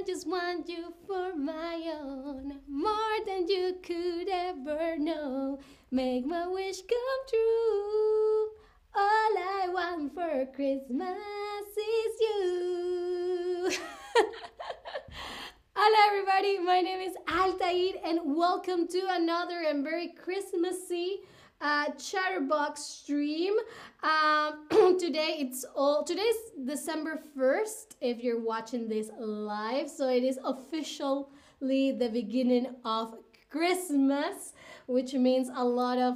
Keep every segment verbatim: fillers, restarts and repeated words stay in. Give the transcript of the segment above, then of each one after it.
I just want you for my own, more than you could ever know. Make my wish come true. All I want for Christmas is you. Hello, everybody. My name is Altair, and welcome to another and very Christmassy uh, Chatterbox stream. Um, today it's all today's December first. If you're watching this live, so it is officially the beginning of Christmas, which means a lot of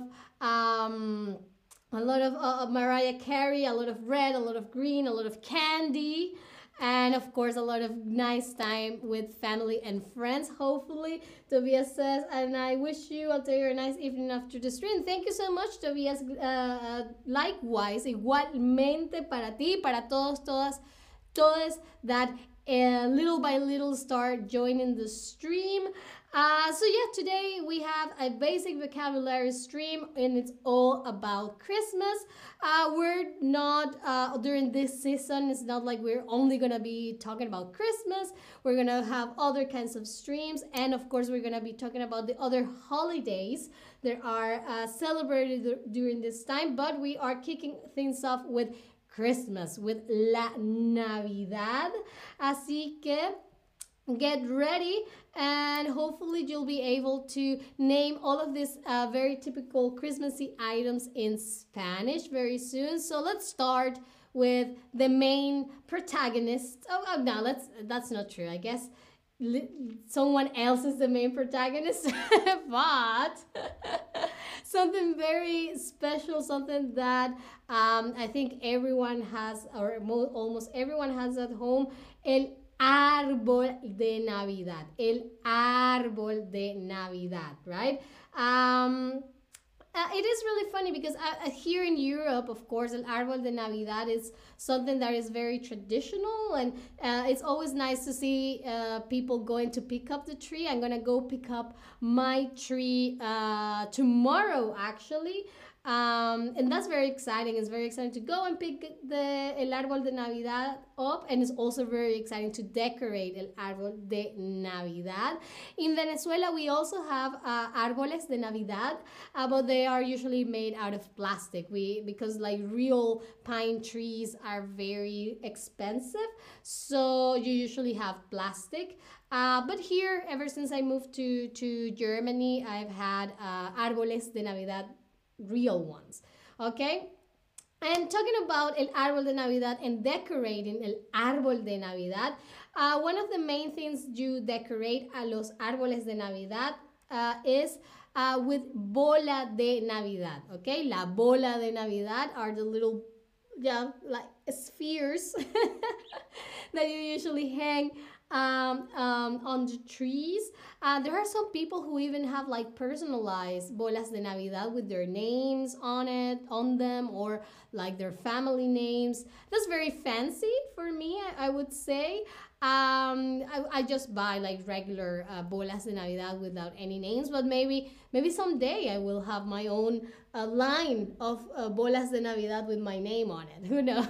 um, a lot of uh, Mariah Carey, a lot of red, a lot of green, a lot of candy, and of course a lot of nice time with family and friends. Hopefully, Tobias says, and I wish you, I'll tell you, a nice evening after the stream. Thank you so much, Tobias. Uh, uh, likewise, igualmente para ti, para todos, todas, todas that uh, little by little start joining the stream. Uh, so yeah, today we have a basic vocabulary stream, and it's all about Christmas. Uh, we're not uh, during this season. It's not like we're only gonna be talking about Christmas. We're gonna have other kinds of streams, and of course, we're gonna be talking about the other holidays that are uh, celebrated during this time. But we are kicking things off with Christmas, with La Navidad. Así que get ready, and hopefully you'll be able to name all of these uh, very typical Christmassy items in Spanish very soon. So let's start with the main protagonist. Oh, oh no, let's that's not true. I guess li- someone else is the main protagonist, but something very special, something that um, I think everyone has, or mo- almost everyone has at home. El árbol de Navidad. El árbol de Navidad, right? Um, uh, it is really funny because uh, here in Europe, of course, el árbol de Navidad is something that is very traditional, and uh, it's always nice to see uh, people going to pick up the tree. I'm gonna go pick up my tree uh, tomorrow, actually. Um, and that's very exciting. It's very exciting to go and pick the el árbol de Navidad up, and it's also very exciting to decorate el árbol de Navidad. In Venezuela, we also have uh, árboles de Navidad, uh, but they are usually made out of plastic. We because like real pine trees are very expensive, so you usually have plastic. Uh, but here, ever since I moved to to Germany, I've had uh, árboles de Navidad, real ones. Okay, and talking about el árbol de Navidad and decorating el árbol de Navidad, uh, one of the main things you decorate a los árboles de Navidad uh, is uh, with bola de Navidad. Okay, la bola de Navidad are the little, yeah, like spheres that you usually hang um, um, on the trees. Uh, there are some people who even have like personalized bolas de Navidad with their names on it, on them, or like their family names. That's very fancy for me, I, I would say. Um, I, I just buy like regular uh, bolas de Navidad without any names, but maybe maybe someday I will have my own uh, line of uh, bolas de Navidad with my name on it. Who knows?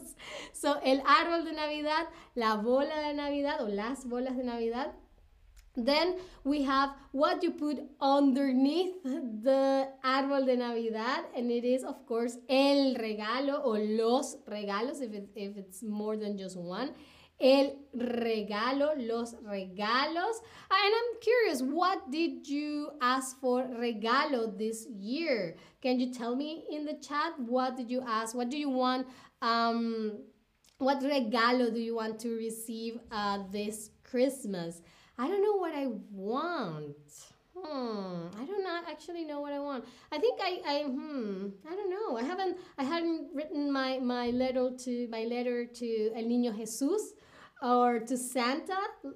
So el árbol de Navidad, la bola de Navidad, o las bolas de Navidad. Then we have what you put underneath the árbol de Navidad, and it is, of course, el regalo or los regalos if, it, if it's more than just one. El regalo, los regalos. And I'm curious, what did you ask for regalo this year? Can you tell me in the chat, what did you ask? What do you want? Um, what regalo do you want to receive uh, this Christmas? I don't know what I want. Hmm. I don't not actually know what I want. I think I, I hmm. I don't know. I haven't I haven't written my, my letter to my letter to El Niño Jesús or to Santa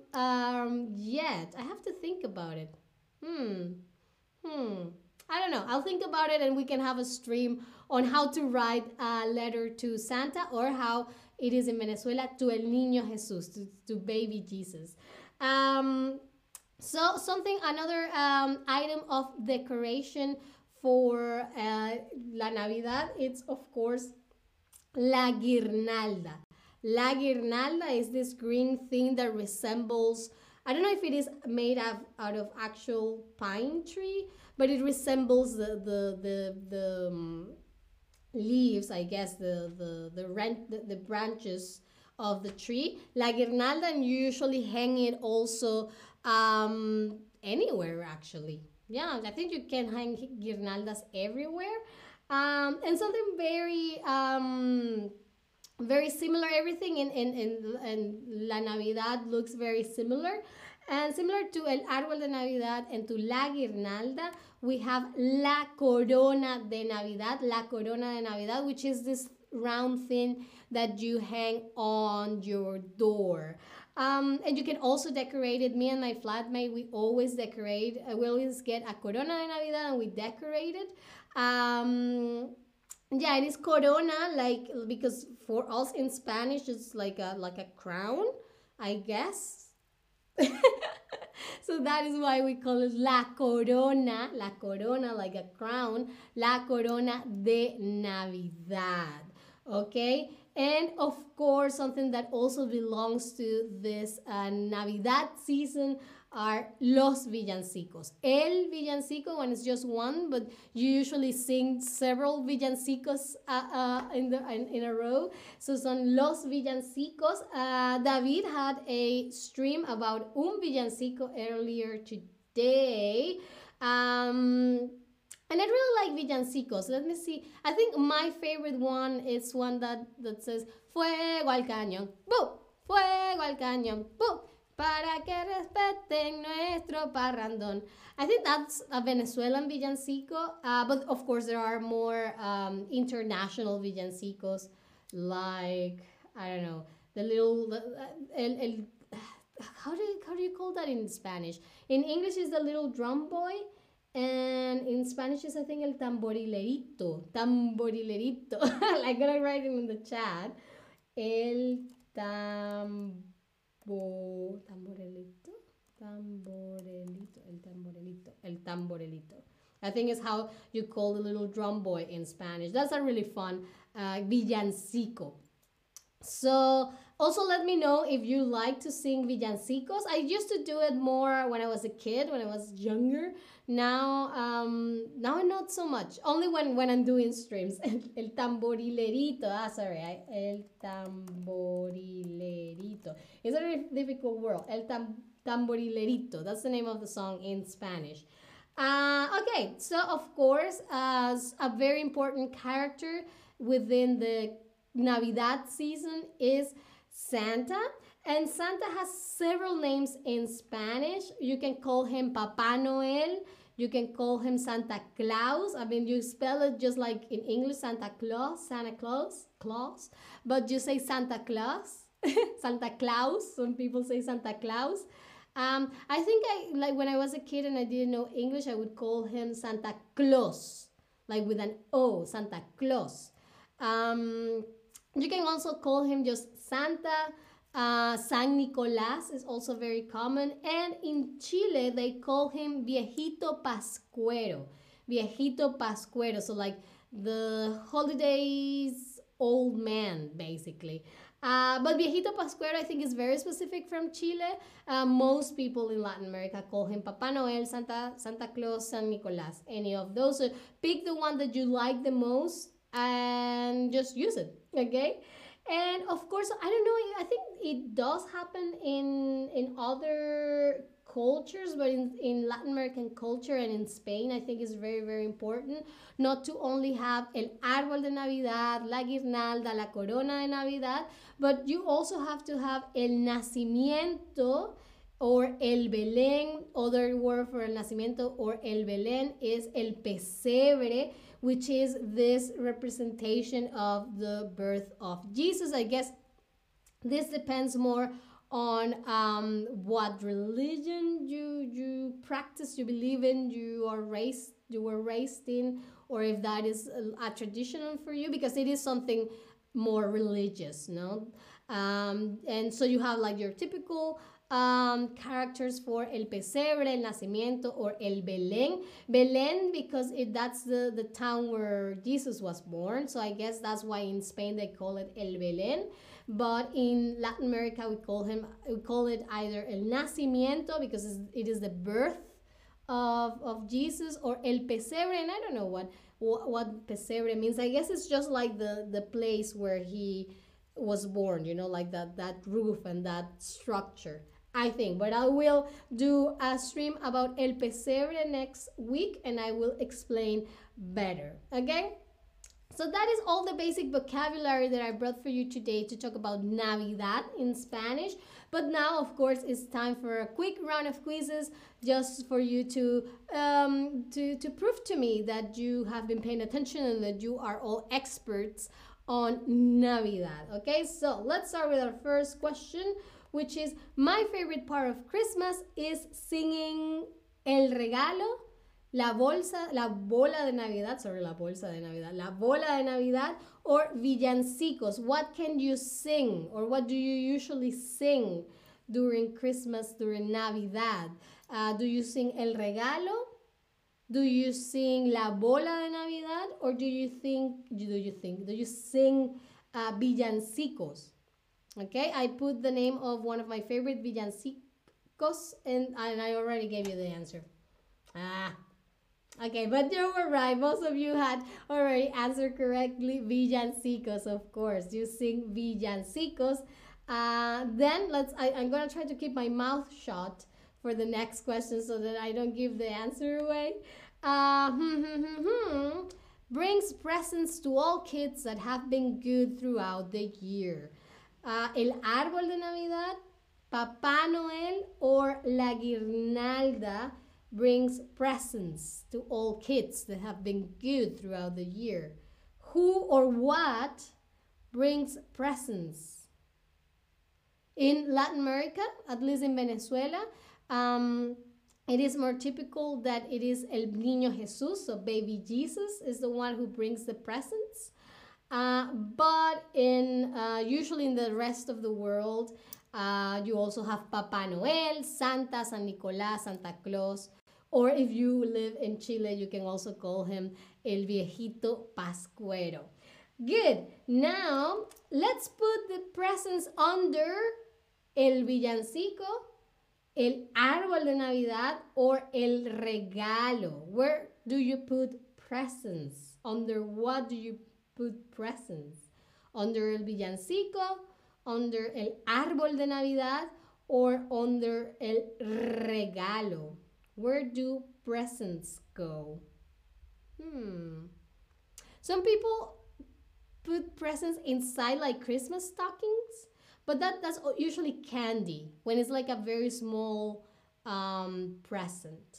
um yet. I have to think about it. Hmm. Hmm. I don't know. I'll think about it, and we can have a stream on how to write a letter to Santa, or how it is in Venezuela, to El Niño Jesús, to, to baby Jesus. Um, so something, another um, item of decoration for uh, La Navidad, it's of course la guirnalda. La guirnalda is this green thing that resembles, I don't know if it is made of, out of actual pine tree, but it resembles the the the, the um, leaves, I guess, the the the, rent, the the branches of the tree. La guirnalda, and you usually hang it also um, anywhere actually. Yeah, I think you can hang guirnaldas everywhere. Um, and something very um, very similar. Everything in, in, in, in La Navidad looks very similar. And similar to El Árbol de Navidad and to La Guirnalda, we have La Corona de Navidad, La Corona de Navidad, which is this round thing that you hang on your door. Um, and you can also decorate it. Me and my flatmate, we always decorate. Uh, we always get a Corona de Navidad and we decorate it. Um, yeah, it is corona, like, because for us in Spanish it's like a like a crown, I guess. So that is why we call it la corona, la corona, like a crown, la corona de Navidad. Okay, and of course, something that also belongs to this uh, Navidad season are los villancicos. El villancico, when it's just one, but you usually sing several villancicos uh, uh, in, the, in, in a row. So son los villancicos. Uh, David had a stream about un villancico earlier today. Um, and I really like villancicos. Let me see. I think my favorite one is one that, that says, Fuego al cañón, ¡boo! Fuego al cañón, ¡boo! Para que respeten nuestro parrandón. I think that's a Venezuelan villancico, uh, but of course there are more um, international villancicos, like, I don't know, the little, uh, el, el, how do you, how do you call that in Spanish? In English is the little drum boy, and in Spanish is, I think, el tamborilerito, tamborilerito. I'm gonna write it in the chat. El tam Bo, tamborelito, tamborelito, el tamborelito, el tamborelito. I think is how you call the little drum boy in Spanish. That's a really fun uh, villancico. So also let me know if you like to sing villancicos. I used to do it more when I was a kid, when I was younger. Now, um, now not so much. Only when, when I'm doing streams. El tamborilerito. Ah, sorry. I, el tamborilerito. It's a very difficult word. El tam, tamborilerito. That's the name of the song in Spanish. Uh, okay, so of course, as a very important character within the Navidad season is Santa. And Santa has several names in Spanish. You can call him Papá Noel. You can call him Santa Claus. I mean, you spell it just like in English, Santa Claus, Santa Claus, Claus. But you say Santa Claus, Santa Claus. Some people say Santa Claus. Um, I think I like when I was a kid and I didn't know English, I would call him Santa Claus, like with an O, Santa Claus. Um, you can also call him just Santa. Uh, San Nicolás is also very common. And in Chile, they call him Viejito Pascuero. Viejito Pascuero. So like the holidays old man, basically. Uh, but Viejito Pascuero, I think, is very specific from Chile. Uh, most people in Latin America call him Papá Noel, Santa, Santa Claus, San Nicolás, any of those. So pick the one that you like the most and just use it, okay? And of course, I don't know, I think it does happen in in other cultures, but in, in Latin American culture and in Spain, I think it's very, very important not to only have el árbol de Navidad, la guirnalda, la corona de Navidad, but you also have to have el nacimiento or el Belén. Other word for el nacimiento or el Belén is el pesebre, which is this representation of the birth of Jesus. I guess this depends more on um, what religion you you practice, you believe in, you are raised, you were raised in, or if that is a, a traditional for you, because it is something more religious, no? Um, and so you have like your typical um, characters for El Pesebre, El Nacimiento, or El Belén. Belén because it, that's the, the town where Jesus was born. So I guess that's why in Spain they call it El Belén. But in Latin America we call him we call it either El Nacimiento because it is the birth of, of Jesus, or El Pesebre, and I don't know what, what what Pesebre means. I guess it's just like the the place where he was born, you know, like that that roof and that structure, I think. But I will do a stream about El Pesebre next week and I will explain better, okay? So that is all the basic vocabulary that I brought for you today to talk about Navidad in Spanish. But now, of course, it's time for a quick round of quizzes just for you to, um, to, to prove to me that you have been paying attention and that you are all experts on Navidad. Okay, so let's start with our first question, which is, my favorite part of Christmas is singing El Regalo, La bolsa, la bola de Navidad, sorry, la bolsa de Navidad, la bola de Navidad, or villancicos. What can you sing, or what do you usually sing during Christmas, during Navidad? Uh, do you sing El Regalo? Do you sing La bola de Navidad, or do you think, do you think, do you sing uh, villancicos? Okay, I put the name of one of my favorite villancicos, and, and I already gave you the answer. Ah. Okay, but you were right. Most of you had already answered correctly. Villancicos, of course. You sing villancicos. Uh, then let's. I, I'm gonna try to keep my mouth shut for the next question so that I don't give the answer away. Uh, hmm, hmm, hmm, hmm. Brings presents to all kids that have been good throughout the year. Uh, el árbol de Navidad, Papá Noel, or la guirnalda brings presents to all kids that have been good throughout the year. Who or what brings presents? In Latin America, at least in Venezuela, um, it is more typical that it is El Niño Jesús, so baby Jesus is the one who brings the presents. Uh, but in uh, usually in the rest of the world, uh, you also have Papá Noel, Santa, San Nicolás, Santa Claus. Or if you live in Chile, you can also call him El Viejito Pascuero. Good. Now, let's put the presents under El Villancico, El Árbol de Navidad, or El Regalo. Where do you put presents? Under what do you put presents? Under El Villancico, under El Árbol de Navidad, or under El Regalo? Where do presents go? Hmm. Some people put presents inside like Christmas stockings, but that, that's usually candy when it's like a very small um, present.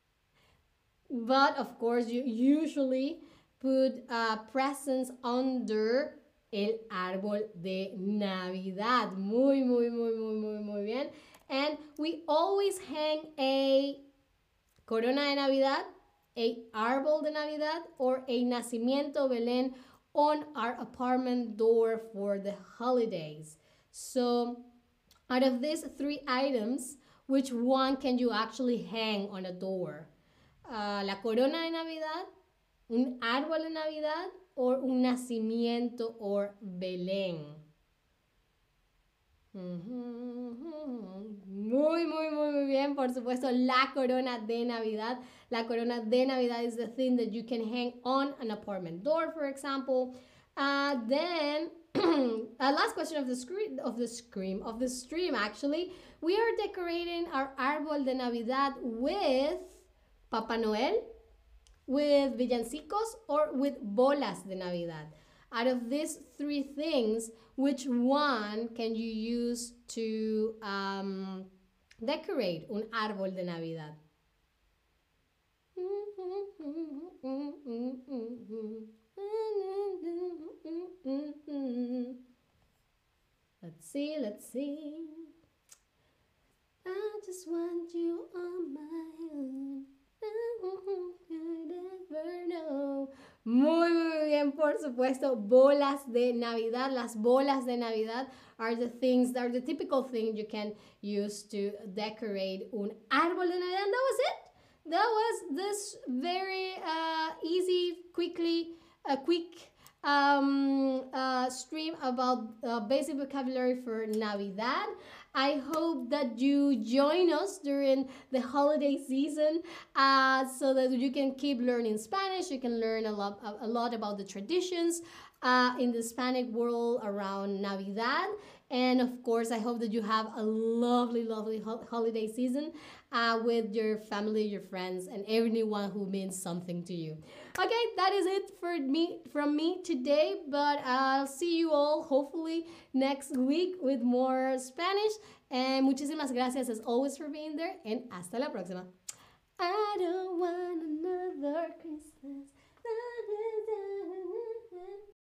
But of course, you usually put uh, presents under el árbol de Navidad. Muy, muy, muy, muy, muy, muy bien. And we always hang a corona de Navidad, a árbol de Navidad, or a nacimiento Belén on our apartment door for the holidays. So out of these three items, which one can you actually hang on a door? Uh, la corona de Navidad, un árbol de Navidad, or un nacimiento or Belén. Muy, muy, muy, muy bien. Por supuesto, la corona de Navidad. La corona de Navidad is the thing that you can hang on an apartment door, for example. Uh, then, uh, last question of the screen, of the scream, of the stream. Actually, we are decorating our árbol de Navidad with Papa Noel, with villancicos, or with bolas de Navidad. Out of these three things, which one can you use to um, decorate un árbol de Navidad? Let's see, let's see. I just want you on my own. I never know. Muy, muy bien. And por supuesto, bolas de Navidad. Las bolas de Navidad are the things, are the typical things you can use to decorate un árbol de Navidad. And that was it. That was this very uh, easy, quickly, a uh, quick um, uh, stream about uh, basic vocabulary for Navidad. I hope that you join us during the holiday season uh, so that you can keep learning Spanish. You can learn a lot, a lot about the traditions uh, in the Hispanic world around Navidad. And of course, I hope that you have a lovely, lovely ho- holiday season uh, with your family, your friends, and everyone who means something to you. Okay, that is it for me from me today. But I'll see you all hopefully next week with more Spanish. And muchísimas gracias as always for being there. And hasta la próxima. I don't want another Christmas.